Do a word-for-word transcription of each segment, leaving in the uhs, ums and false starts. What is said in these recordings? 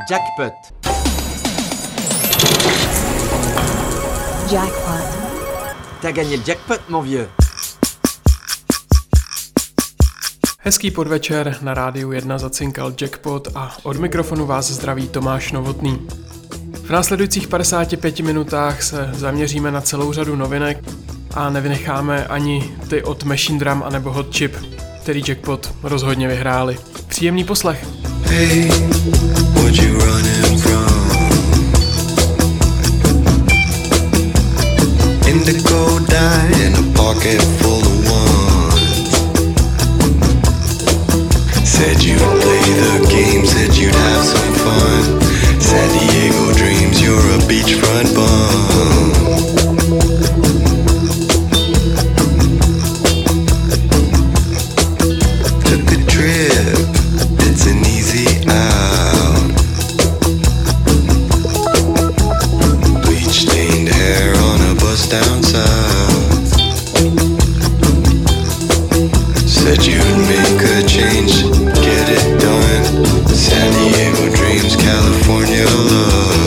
Jackpot. Jackpot. T'as gagné le jackpot, mon vieux. Hezký podvečer, na rádiu jedna zacinkal Jackpot a od mikrofonu vás zdraví Tomáš Novotný. V následujících padesáti pěti minutách se zaměříme na celou řadu novinek a nevynecháme ani ty od Machine Drum anebo Hot Chip, který Jackpot rozhodně vyhráli. Příjemný poslech. Hey, what you running from? Indigo dye in a pocket full of ones. Said you'd play the game, said you'd have some fun. San Diego dreams, you're a beachfront bum. Took a trip, it's an easy out. Bleach stained hair on a bus down south. Said you'd make a change, get it done. San Diego dreams, California love.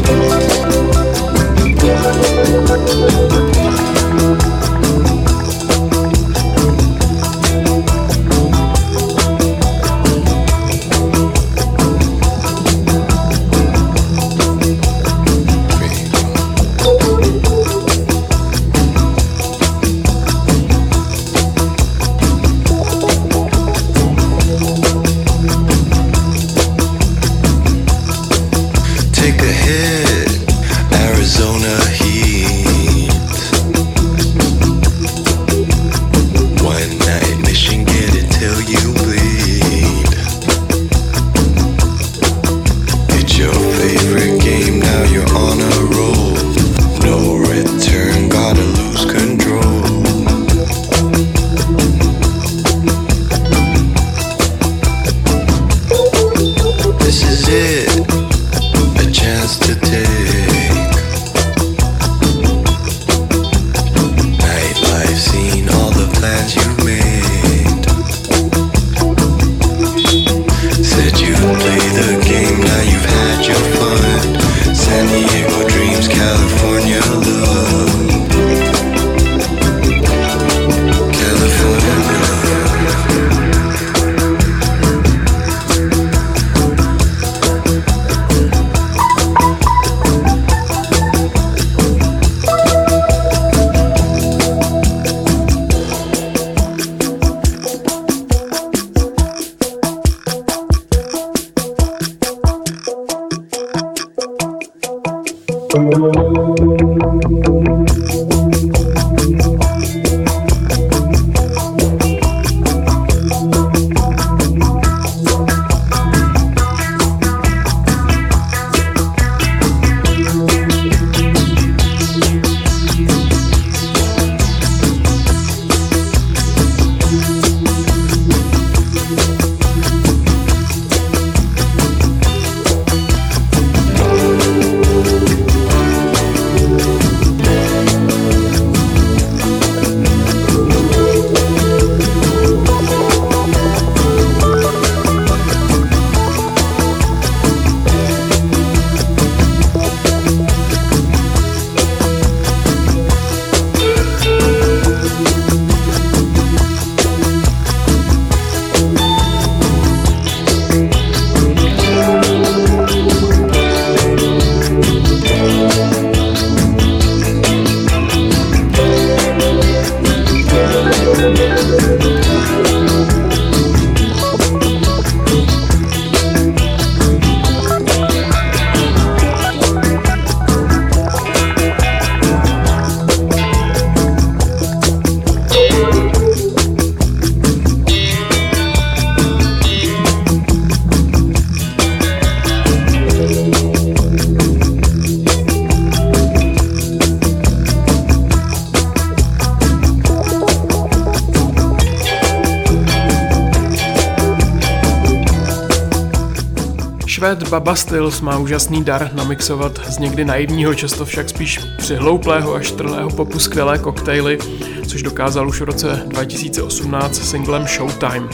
Švéd Bubba Stillz má úžasný dar namixovat z někdy naivního, často však spíš přihlouplého a štrlého popu skvělé koktejly, což dokázal už v roce dva tisíce osmnáct singlem Showtime.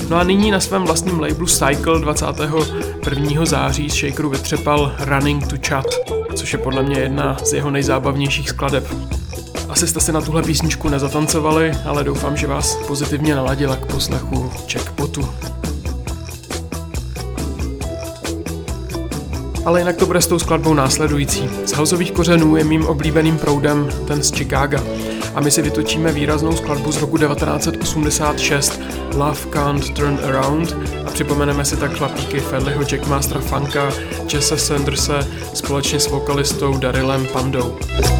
No a nyní na svém vlastním labelu Cycle dvacátého prvního září z Shakeru vytřepal Running to Chat, což je podle mě jedna z jeho nejzábavnějších skladeb. Asi jste si na tuhle písničku nezatancovali, ale doufám, že vás pozitivně naladila k poslechu Jackpotu. Ale jinak to bude s tou skladbou následující. Z houseových kořenů je mým oblíbeným proudem ten z Chicaga. A my si vytočíme výraznou skladbu z roku devatenáct set osmdesát šest Love Can't Turn Around a připomeneme si tak chlapíky Fedleyho Jackmastera Funka, Jesse Sanderse společně s vokalistou Darylem Pandou.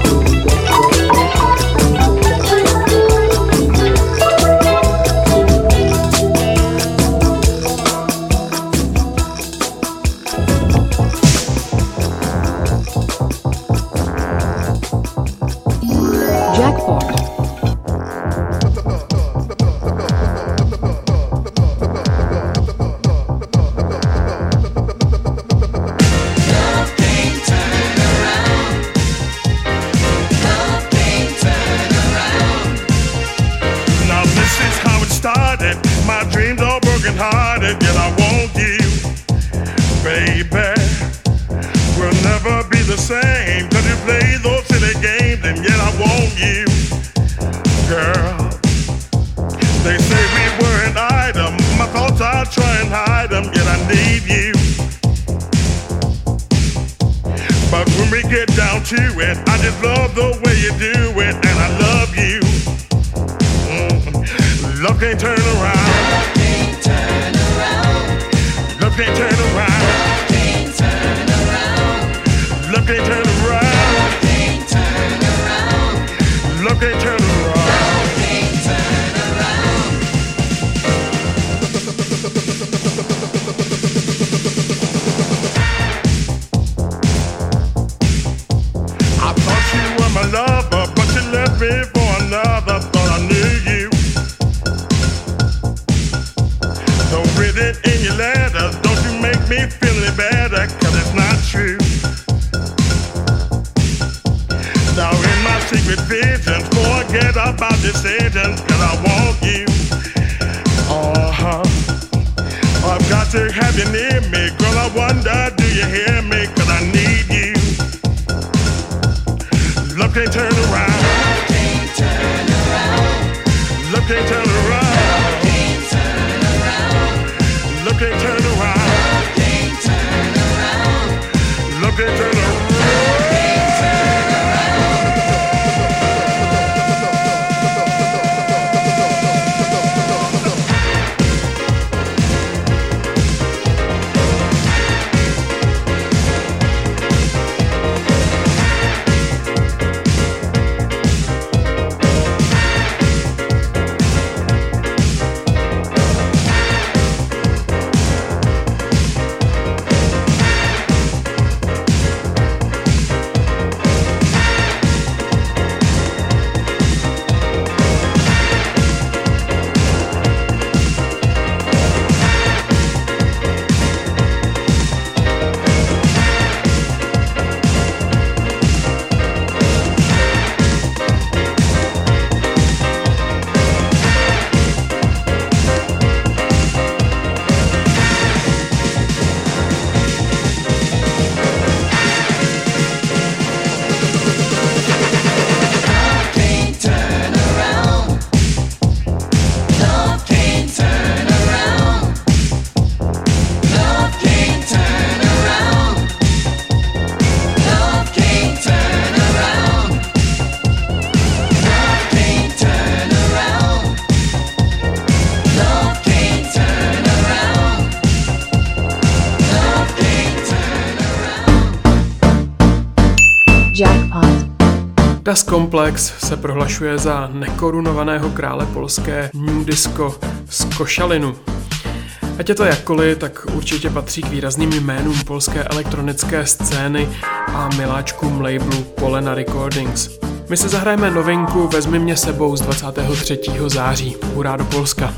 Das Komplex se prohlašuje za nekorunovaného krále polské new disco z Košalinu. Ať je to jakkoliv, tak určitě patří k výrazným jménům polské elektronické scény a miláčkům labelu Polena Recordings. My si zahrajeme novinku Vezmi mě sebou z dvacátého třetího září. Hurá do Polska!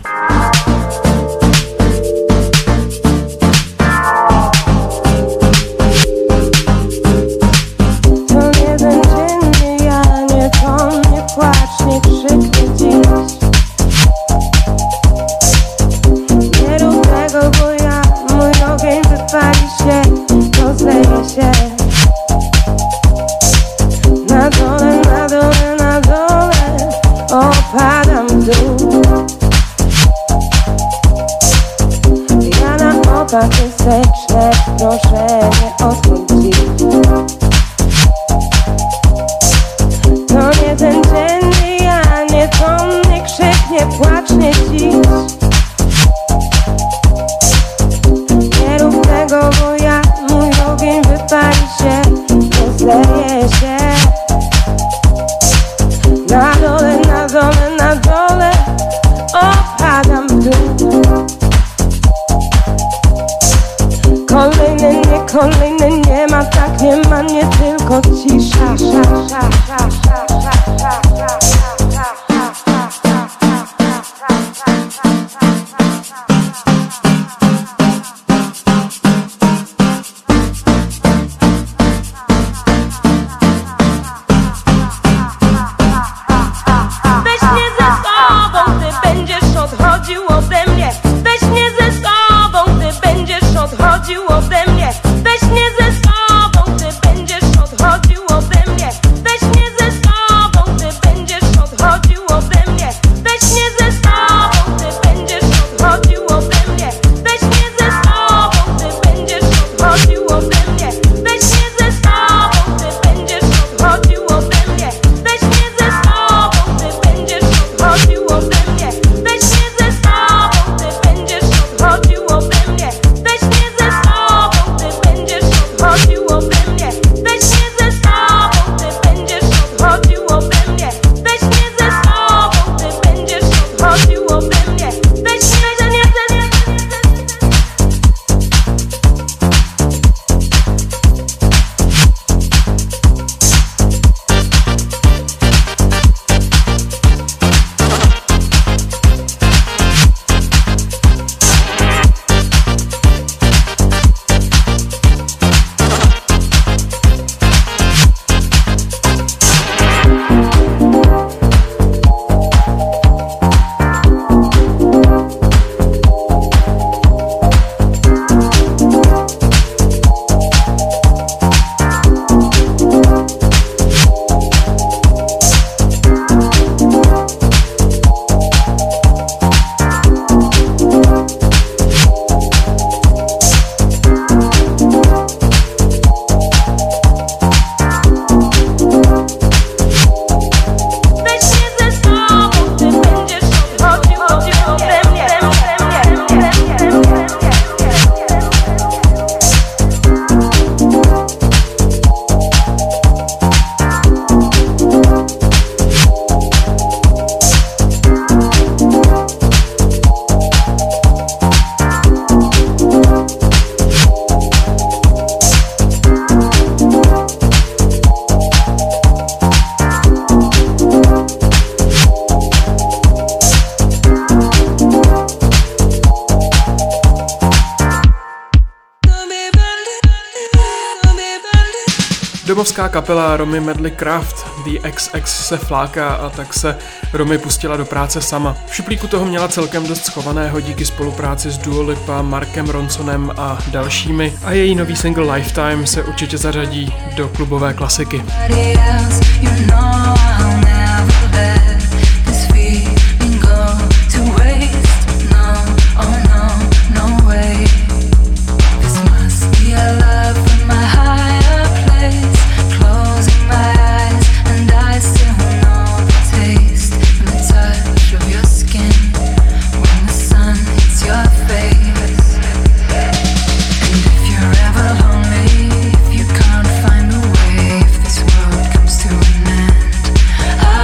Płacz, nie krzyknij dziś. Patysyczne, proszę nie odchodzić. To nie ten dzień, ja nie to mnie krzyk, nie płacz, nie dziś. Nie rób tego, bo ja, mój ogień wypali się, nie zleje się. Na dole, na dole, na dole opadam w dół. Kolejny, nie kolejny, nie ma tak, nie ma, nie tylko cisza. Sza, sza, sza, sza, sza, sza, sza, Domovská kapela Romy Medley Craft The X X se fláká a tak se Romy pustila do práce sama. V šuplíku toho měla celkem dost schovaného díky spolupráci s Dua Lipa, Markem Ronsonem a dalšími a její nový single Lifetime se určitě zařadí do klubové klasiky. If you can't find a way, if this world comes to an end,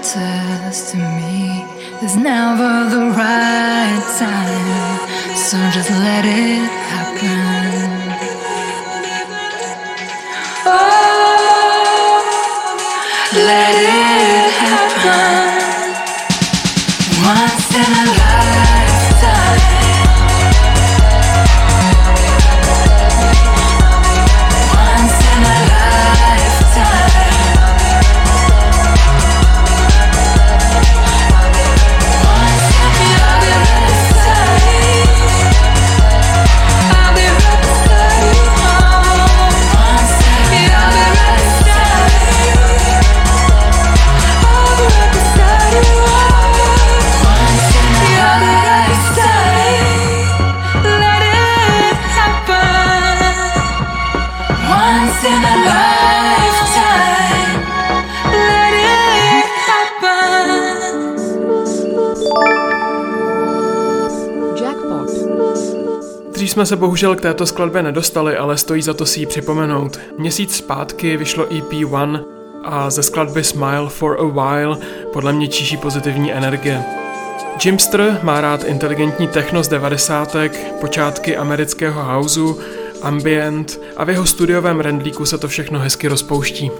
says to me, there's never the right time, so just let it happen. Oh, let it happen. Once in a lifetime. Once in a lifetime. Once in a lifetime. I'll be right beside you. Once in a lifetime. I'll be right beside you. Once in a lifetime. Let it happen. Once in a lifetime. Let it happen. Jackpot. Dřív jsme se bohužel k této skladbě nedostali, ale stojí za to si ji připomenout. Měsíc zpátky vyšlo E P One a ze skladby Smile for a While podle mě číší pozitivní energie. Jimster má rád inteligentní techno z devadesátek, počátky amerického houseu, ambient a v jeho studiovém rendlíku se to všechno hezky rozpouští.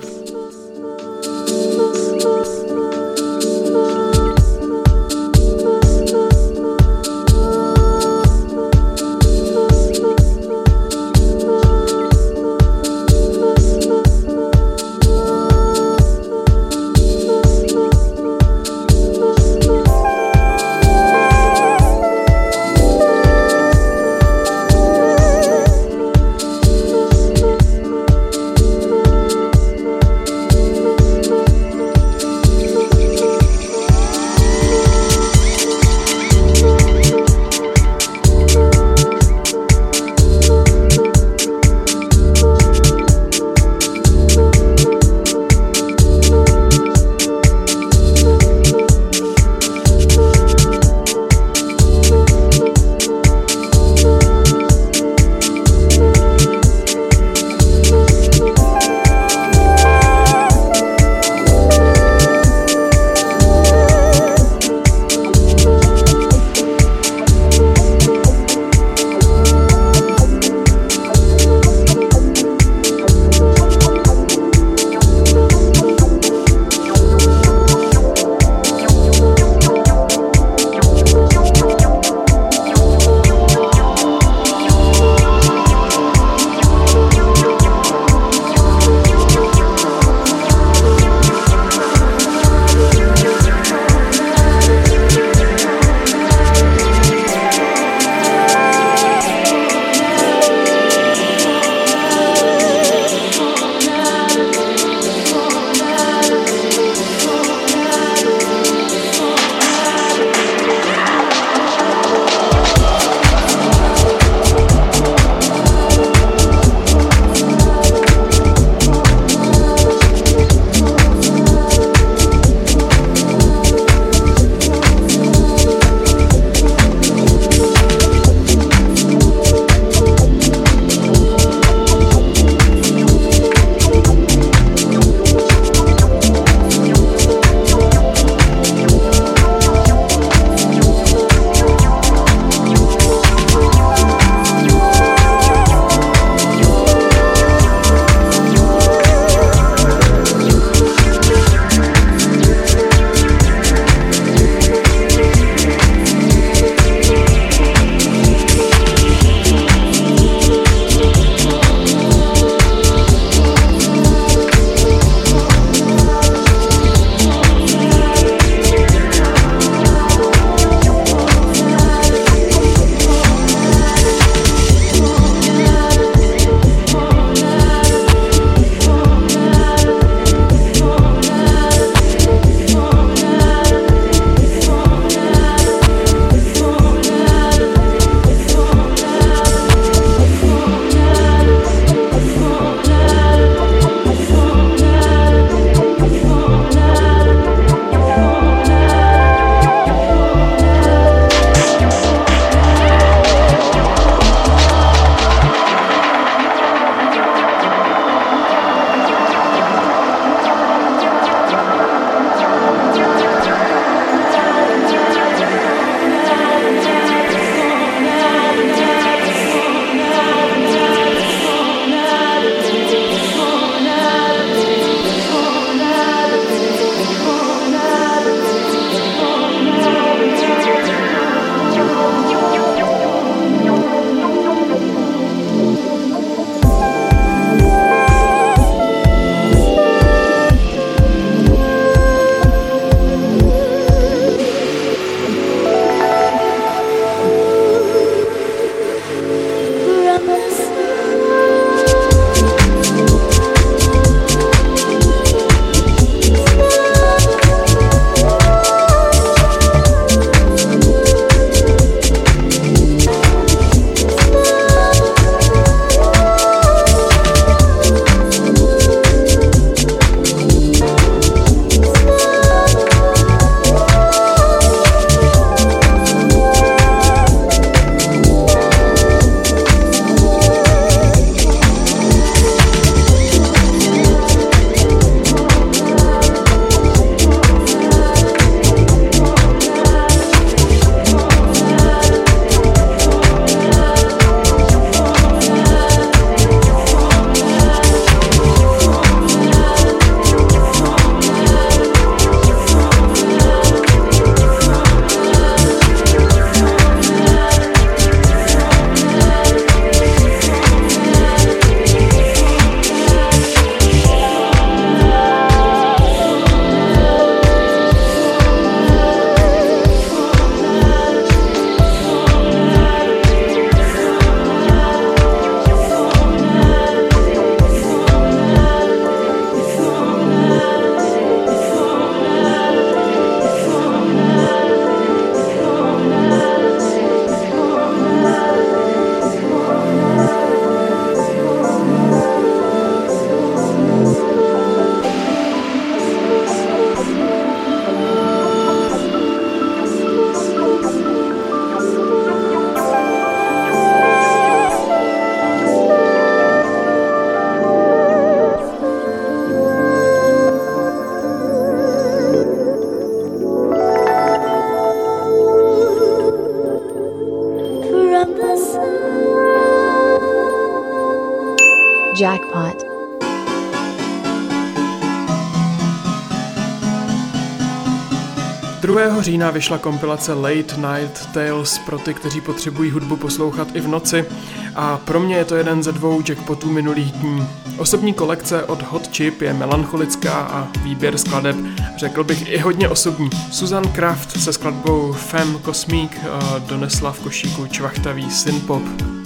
Jackpot. druhého října vyšla kompilace Late Night Tales pro ty, kteří potřebují hudbu poslouchat i v noci, a pro mě je to jeden ze dvou jackpotů minulých dní. Osobní kolekce od Hot Chip je melancholická a výběr skladeb, řekl bych, i hodně osobní. Susan Kraft se skladbou Femme Cosmique donesla v košíku čvachtavý synpop.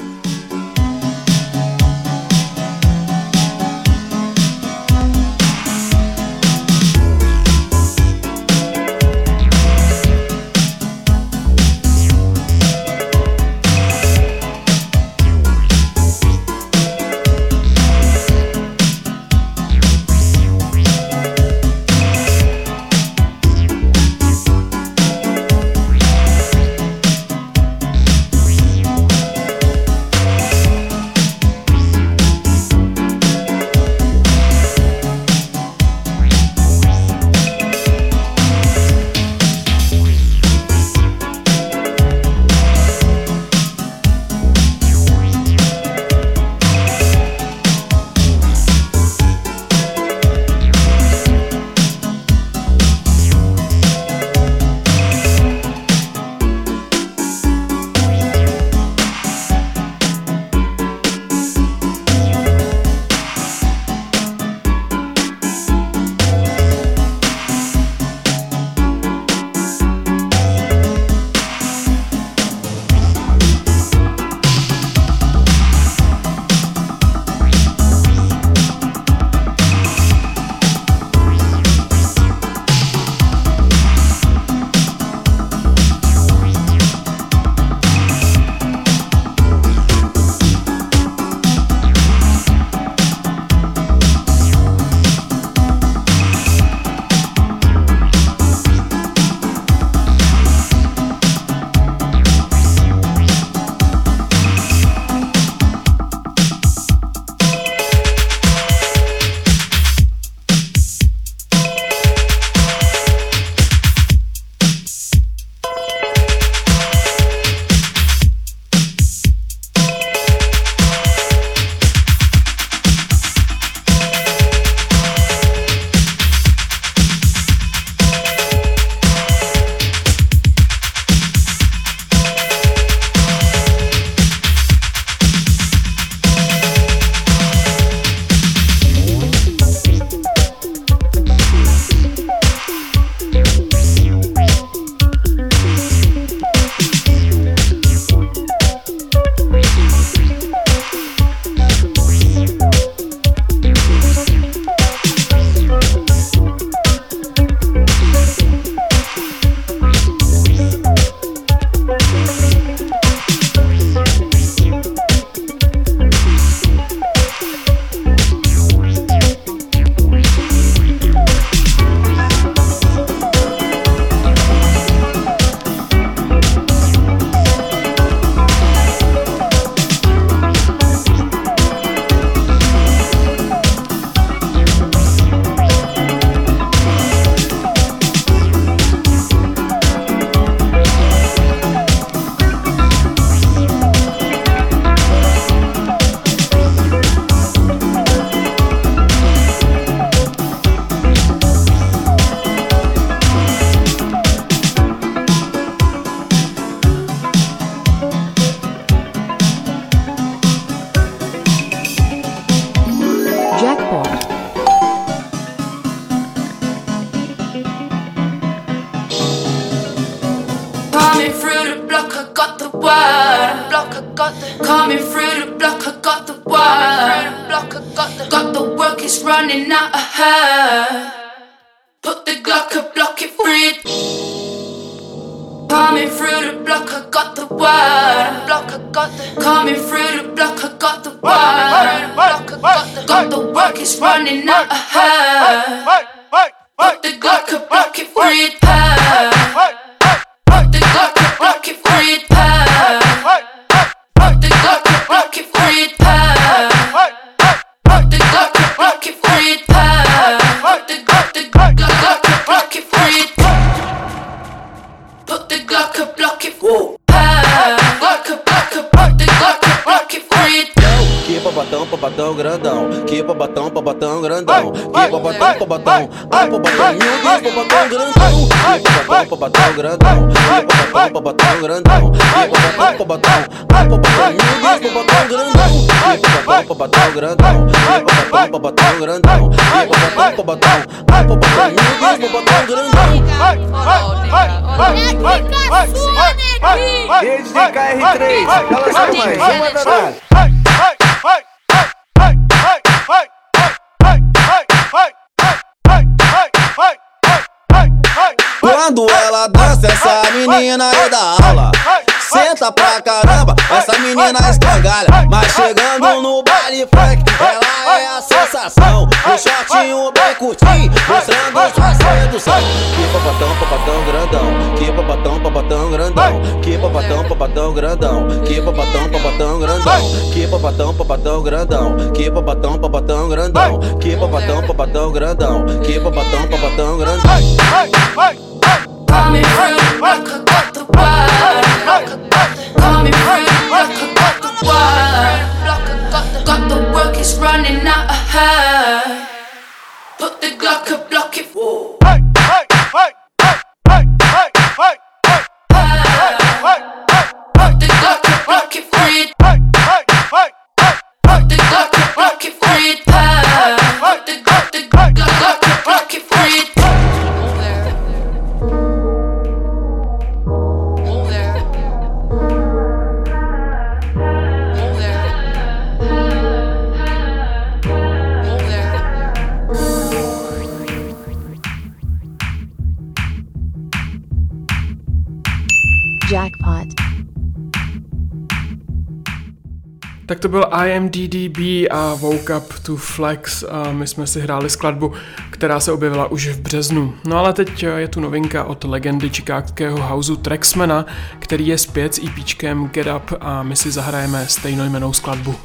Coming through the block, I got the wire. Got the work, it's running out of her. Put the Glock, I block it free. Coming through the block, I got the wire. Coming through the block, I got the wire. Got the work, it's running out of her. Put the Glock, I block it free. Put the Glock, I block it free. Put the Glock, I block it free. Put the Glock, I block it free. Put the Glock, the Glock, I block it free. Put the Glock, I block it free. Glock, I block, I put the Glock, I block it free. Give up a dump, pabatão grandão, que pabatão, pabatão grandão, que pabatão, pabatão, ai pabatão, meu Deus, pabatão grandão, que pabatão, pabatão grandão, que pabatão, pabatão grandão, que pabatão, pabatão, ai pabatão, meu Deus, pabatão grandão, que pabatão, pabatão grandão, que pabatão, pabatão grandão, que pabatão, pabatão, ai pabatão, meu Deus, pabatão grandão. Desde K R três, cala sua mãe, uma danada. Quando ela dança, essa menina é da aula. Senta pra caramba, essa menina escangalha. Mas chegando no baile funk, ela é a sensação. O shortinho bem curtinho, mostrando sua sedução. Que pabatão, pabatão grandão, que pabatão, pabatão grandão, que pabatão, pabatão grandão, que pabatão, pabatão grandão, que pabatão, pabatão grandão, que pabatão, pabatão grandão, que pabatão, pabatão grandão, que pabatão, pabatão grandão. Coming through like I got the word. Coming through like I got the word. Got the work, it's running out of her. Put the Glock up, block it. Whoa. Hey, hey, hey, hey, hey, hey, hey, hey, hey. Put the Glock up, block it, free. Hey, hey, hey, hey. Put the Glock up, block it, free. Put the Glock, the Glock up, block it, free. Jackpot. Tak to byl I M D D B a Woke Up to Flex a my jsme si hráli skladbu, která se objevila už v březnu. No ale teď je tu novinka od legendy chicagského houseu Traxmana, který je zpět s EPčkem Get Up a my si zahrajeme stejnojmennou skladbu.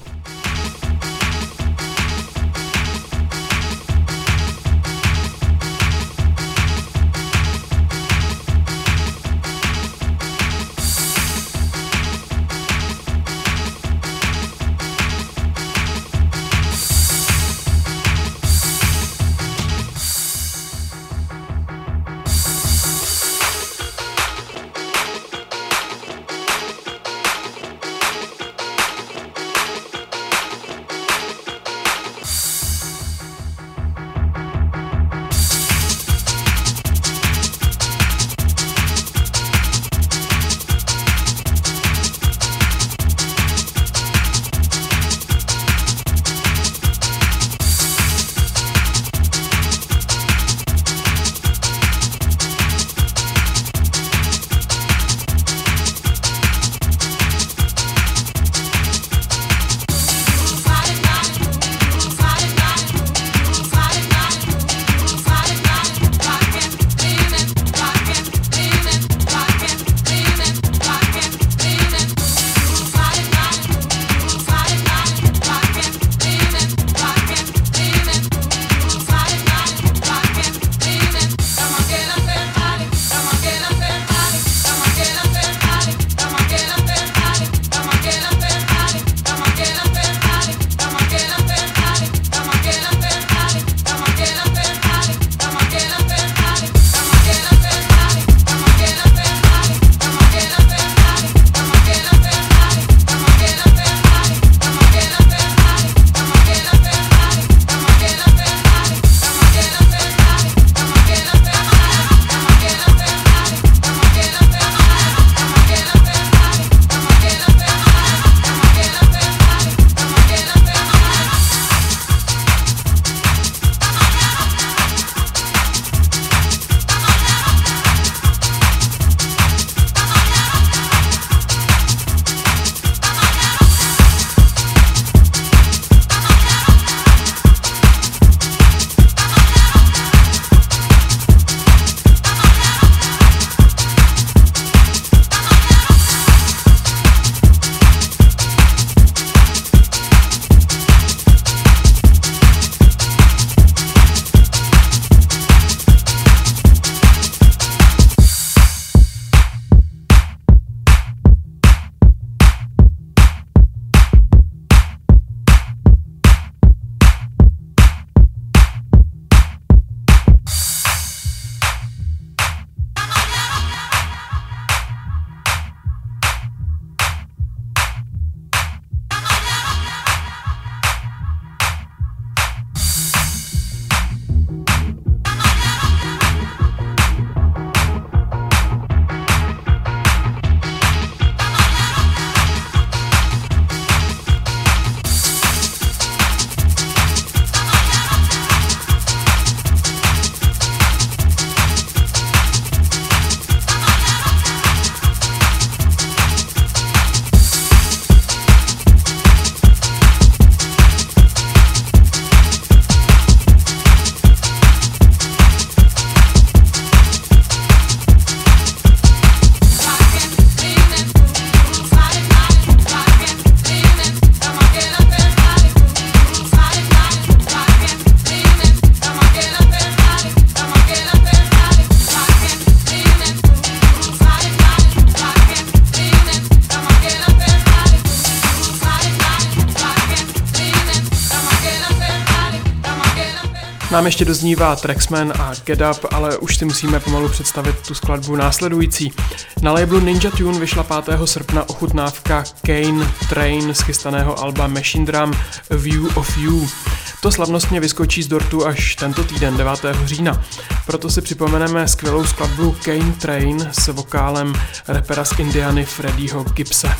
Nám ještě doznívá Traxman a Get Up, ale už si musíme pomalu představit tu skladbu následující. Na labelu Ninja Tune vyšla pátého srpna ochutnávka Kane Train z chystaného alba Machine Drum A View of You. To slavnostně vyskočí z dortu až tento týden, devátého října. Proto si připomeneme skvělou skladbu Kane Train s vokálem rapera z Indiany Freddieho Gibbse.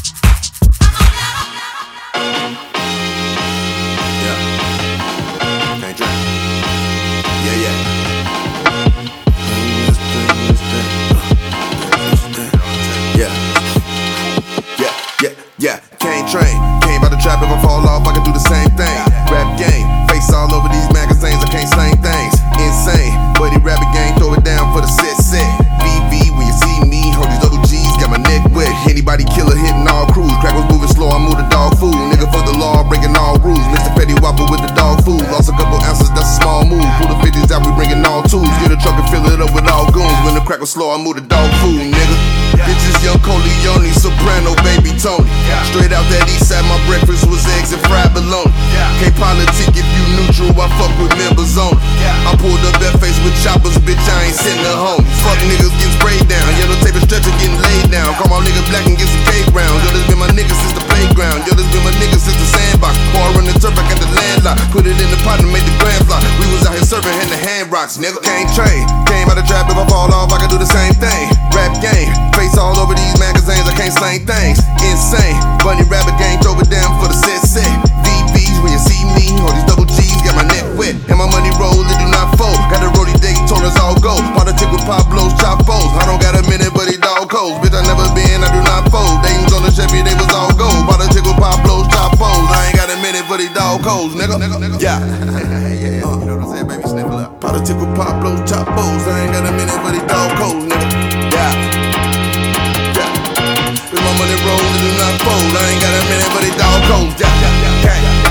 Yeah, Kane Train, came by the trap, if I fall off, I can do the same thing. Rap game, face all over these magazines, I can't slang things. Insane, buddy rabbit gang, throw it down for the set set. V V, when you see me, hold these double G's, got my neck wet. Anybody killer hitting all crews, crack was moving slow, I move the dog food. Nigga for the law, breaking all rules. Mister Petty Whopper with the dog food, lost a couple ounces, that's a small move. Pull the fifties out, we bringing all tools. Get a truck and fill it up with all goons. When the crack was slow, I move the dog food, nigga. Bitches, young Coleone, soprano, baby Tony. Straight out that east side, my breakfast was eggs and fried bologna. Can't politic if you neutral, I fuck with members on it. I pulled up that face with choppers, bitch, I ain't sitting at home. Fuck niggas getting sprayed down, yellow tape and stretcher getting laid down. Call my nigga black and get some cake round. Yo, this been my nigga since the playground. Yo, this been my nigga since the sandbox. Pour run the turf, I got the landlock. Put it in the pot and made the grand block. We was out here serving in the hand rocks, nigga. Can't train, came out the trap, if I fall off, I can do the same thing. Rap game, face all over these magazines, I can't slang things. Insane, bunny rabbit gang, throw it down for the set set. V V's when you see me, all these double G's, got my neck wet. And my money roll, it do not fold. Got a roadie day, told us all go. Politic with Pablo's chopos. I don't got a minute, but he dog codes. Bitch, I never been, I do not fold. They was on the Chevy, they was all gold. Politic with Pablo's chopos. I ain't got a minute, but he dog codes, nigga. Yeah. Yeah, uh, you know what I'm saying, baby, sniffle up. Politic with Pablo's chopos. I ain't got a minute, but he dog codes, nigga. Yeah. Yeah. With my money roll, it do not fold. I ain't got a minute, but he dog codes. Yeah, yeah, yeah, yeah, yeah.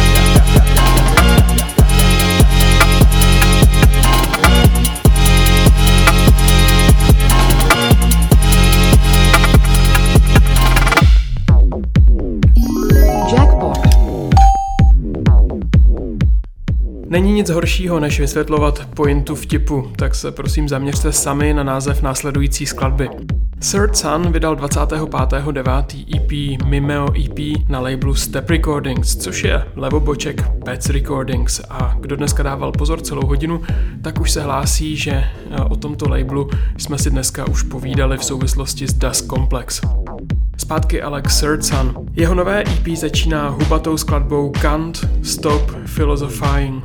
Není nic horšího, než vysvětlovat pointu vtipu, tak se prosím zaměřte sami na název následující skladby. Third Sun vydal dvacátého pátého devátého E P Mimeo E P na labelu Step Recordings, což je levoboček Pets Recordings, a kdo dneska dával pozor celou hodinu, tak už se hlásí, že o tomto labelu jsme si dneska už povídali v souvislosti s Dust Complex. Zpátky ale k Third Sun. Jeho nové E P začíná hubatou skladbou Can't Stop Philosophizing.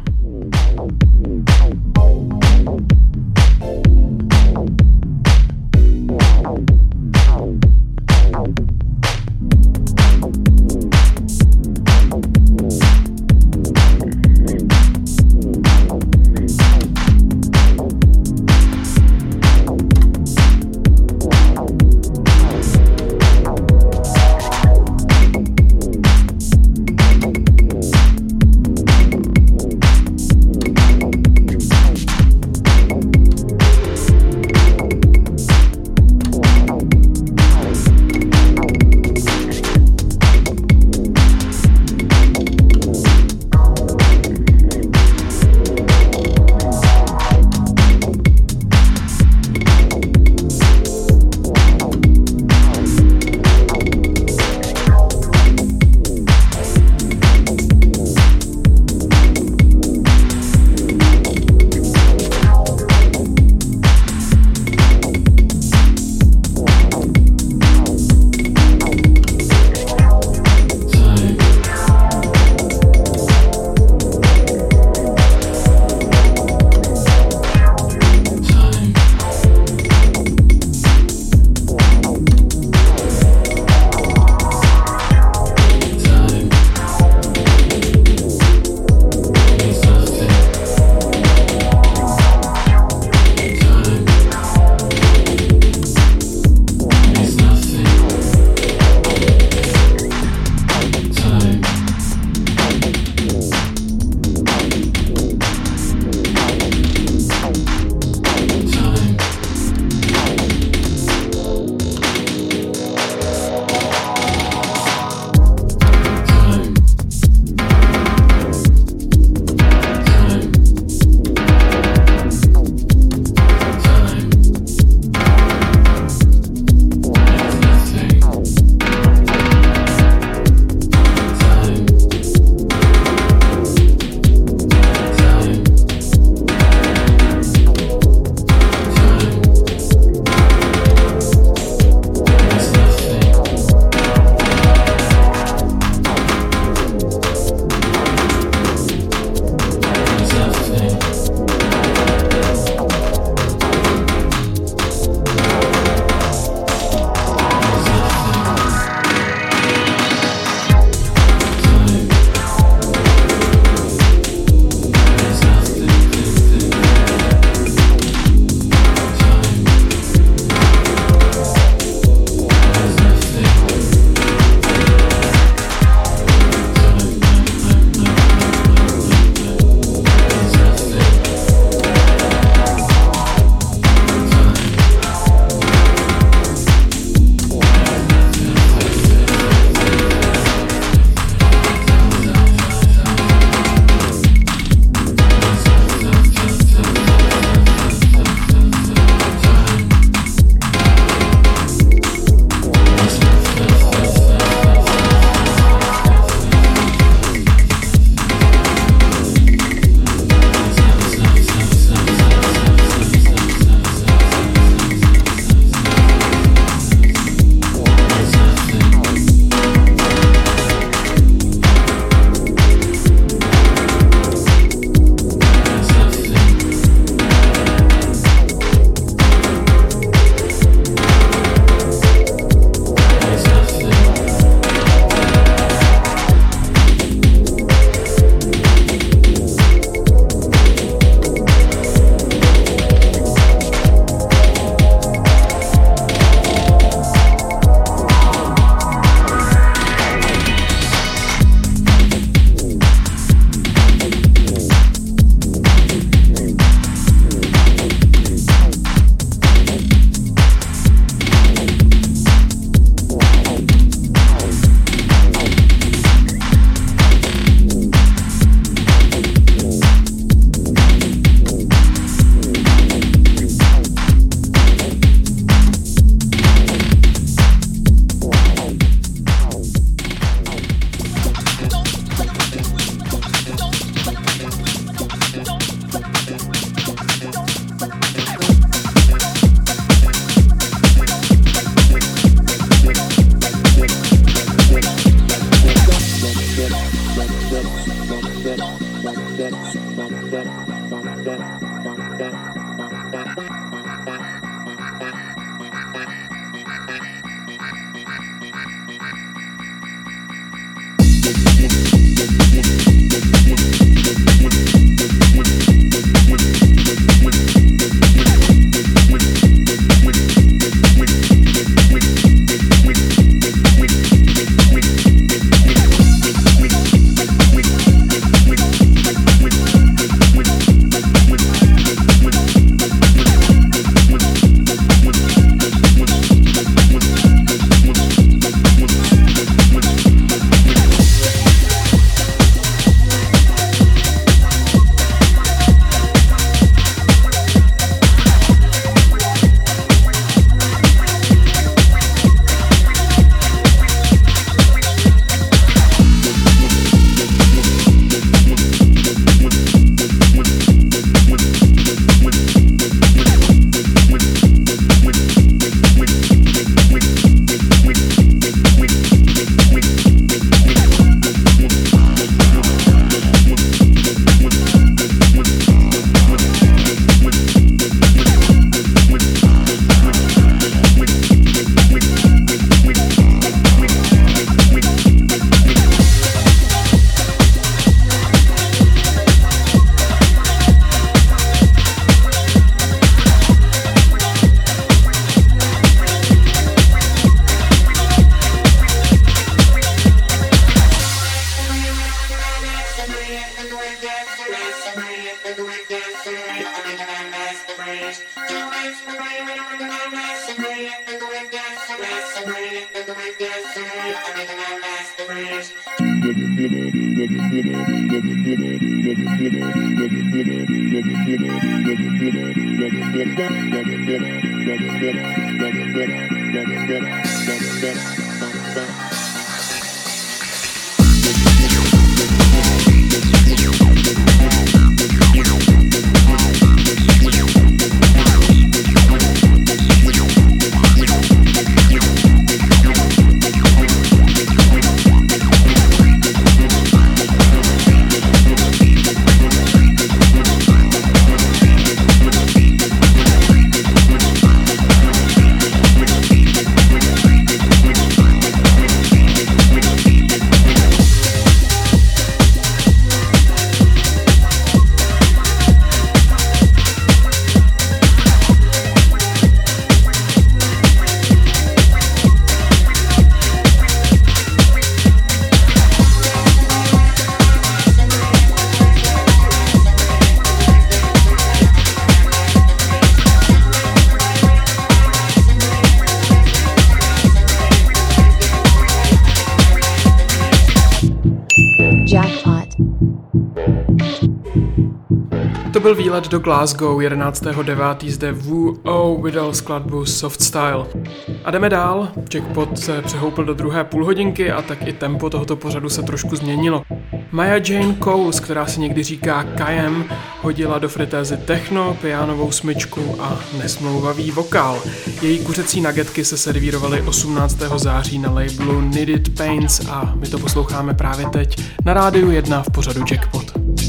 To byl výlet do Glasgow jedenáctého devátého zde Wu O vydal skladbu Soft Style. A jdeme dál, Jackpot se přehoupil do druhé půlhodinky a tak i tempo tohoto pořadu se trošku změnilo. Maya Jane Coles, která si někdy říká Kayem, hodila do fritézy techno, pianovou smyčku a nesmlouvavý vokál. Její kuřecí nuggetky se servírovaly osmnáctého září na labelu Knitted Paints a my to posloucháme právě teď na Rádiu jedna v pořadu Jackpot.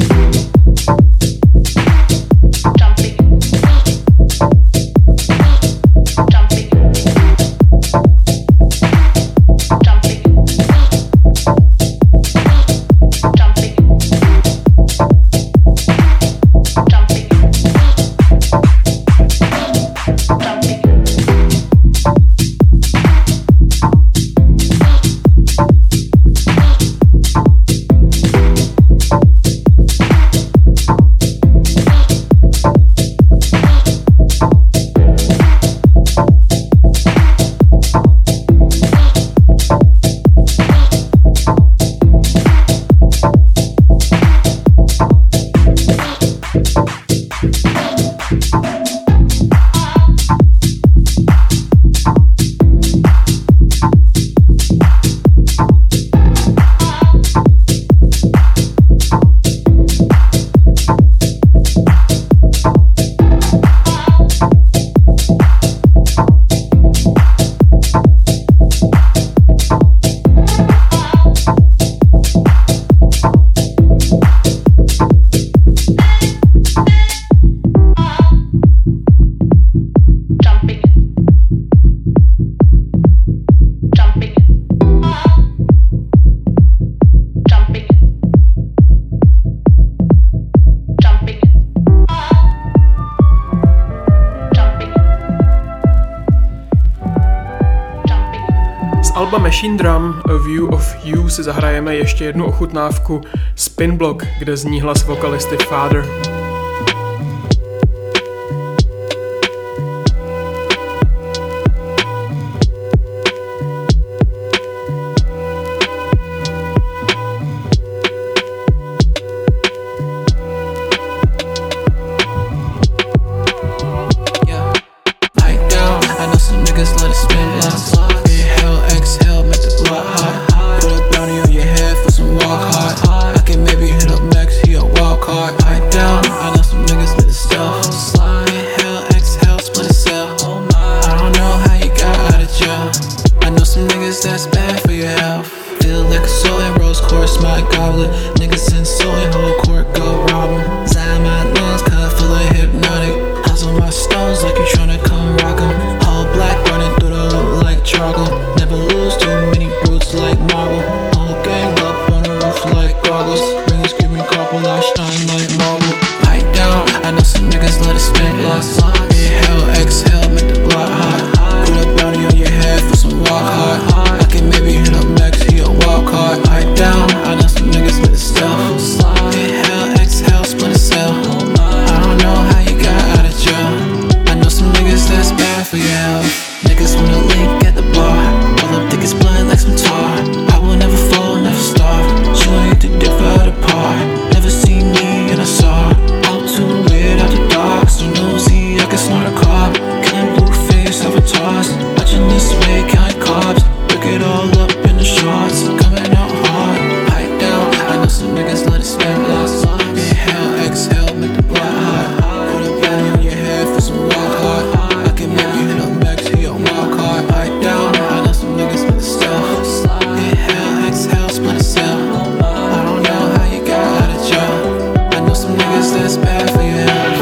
Alba Machine Drum A View of You si zahrajeme ještě jednu ochutnávku Spin Block, kde zní hlas vokalisty Father. Walk hard, I can maybe hit up next, he a walk hard. I down, I know some niggas with the cars, watching this way, count carbs. Look it all up in the shorts, coming out hard. Pipe down, I know some niggas let it spend lost. Inhale, exhale, make the blood hot. Put a belly on your head for some walk hard. I can make you hit up back to your walk hard. Pipe down, I know some niggas with the stuff. Inhale, exhale, split a cell. I don't know how you got out of jail. I know some niggas that's bad for your health.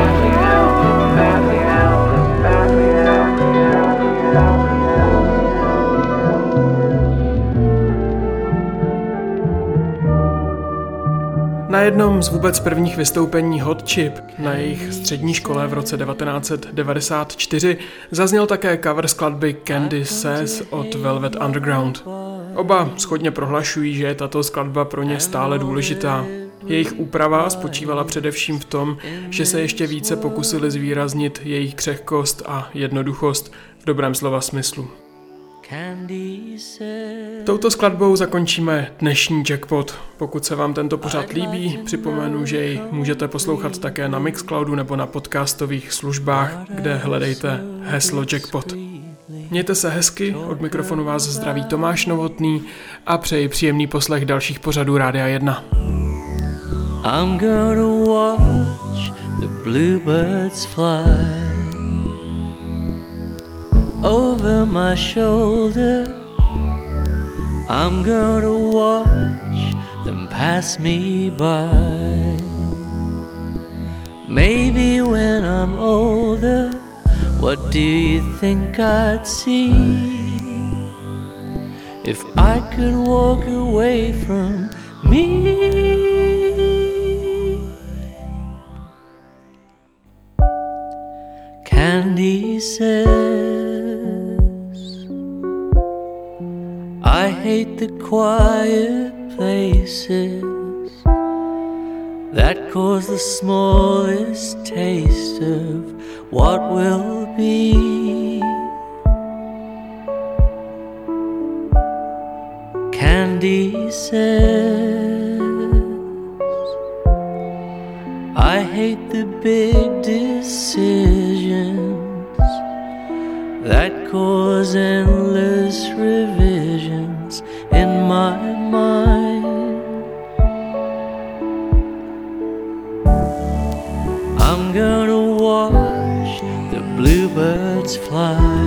Na jednom z vůbec prvních vystoupení Hot Chip na jejich střední škole v roce devatenáct set devadesát čtyři zazněl také cover skladby Candy Says od Velvet Underground. Oba shodně prohlašují, že je tato skladba pro ně stále důležitá. Jejich úprava spočívala především v tom, že se ještě více pokusili zvýraznit jejich křehkost a jednoduchost v dobrém slova smyslu. Touto skladbou zakončíme dnešní Jackpot. Pokud se vám tento pořad líbí, připomenu, že ji můžete poslouchat také na Mixcloudu nebo na podcastových službách, kde hledejte heslo Jackpot. Mějte se hezky, od mikrofonu vás zdraví Tomáš Novotný a přeji příjemný poslech dalších pořadů Rádia jedna. I'm gonna watch the bluebirds fly over my shoulder. I'm gonna watch them pass me by. Maybe when I'm older, what do you think I'd see? If I could walk away from me. Candy says I hate the quiet places that cause the smallest taste of what will be. Candy says I hate the big decisions that cause endless revisions in my mind. I'm gonna watch the bluebirds fly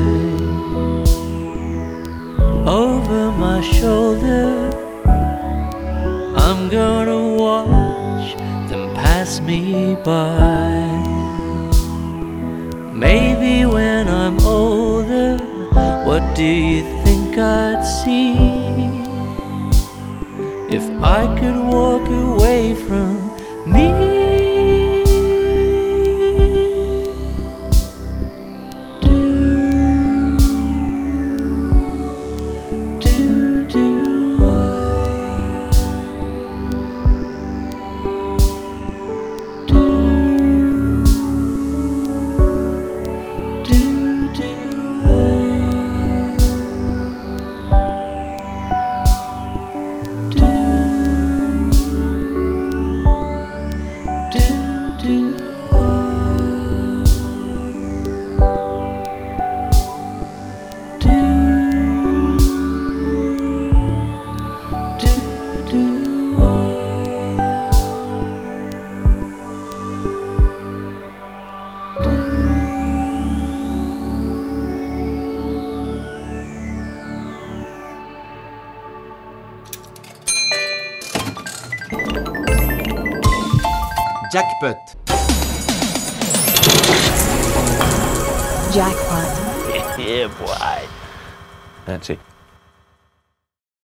over my shoulder. I'm gonna watch them pass me by. Maybe when I'm older, what do you think I'd see? If I could walk away from me. Jackpot. Jackpot. Yeah, boy. That's it.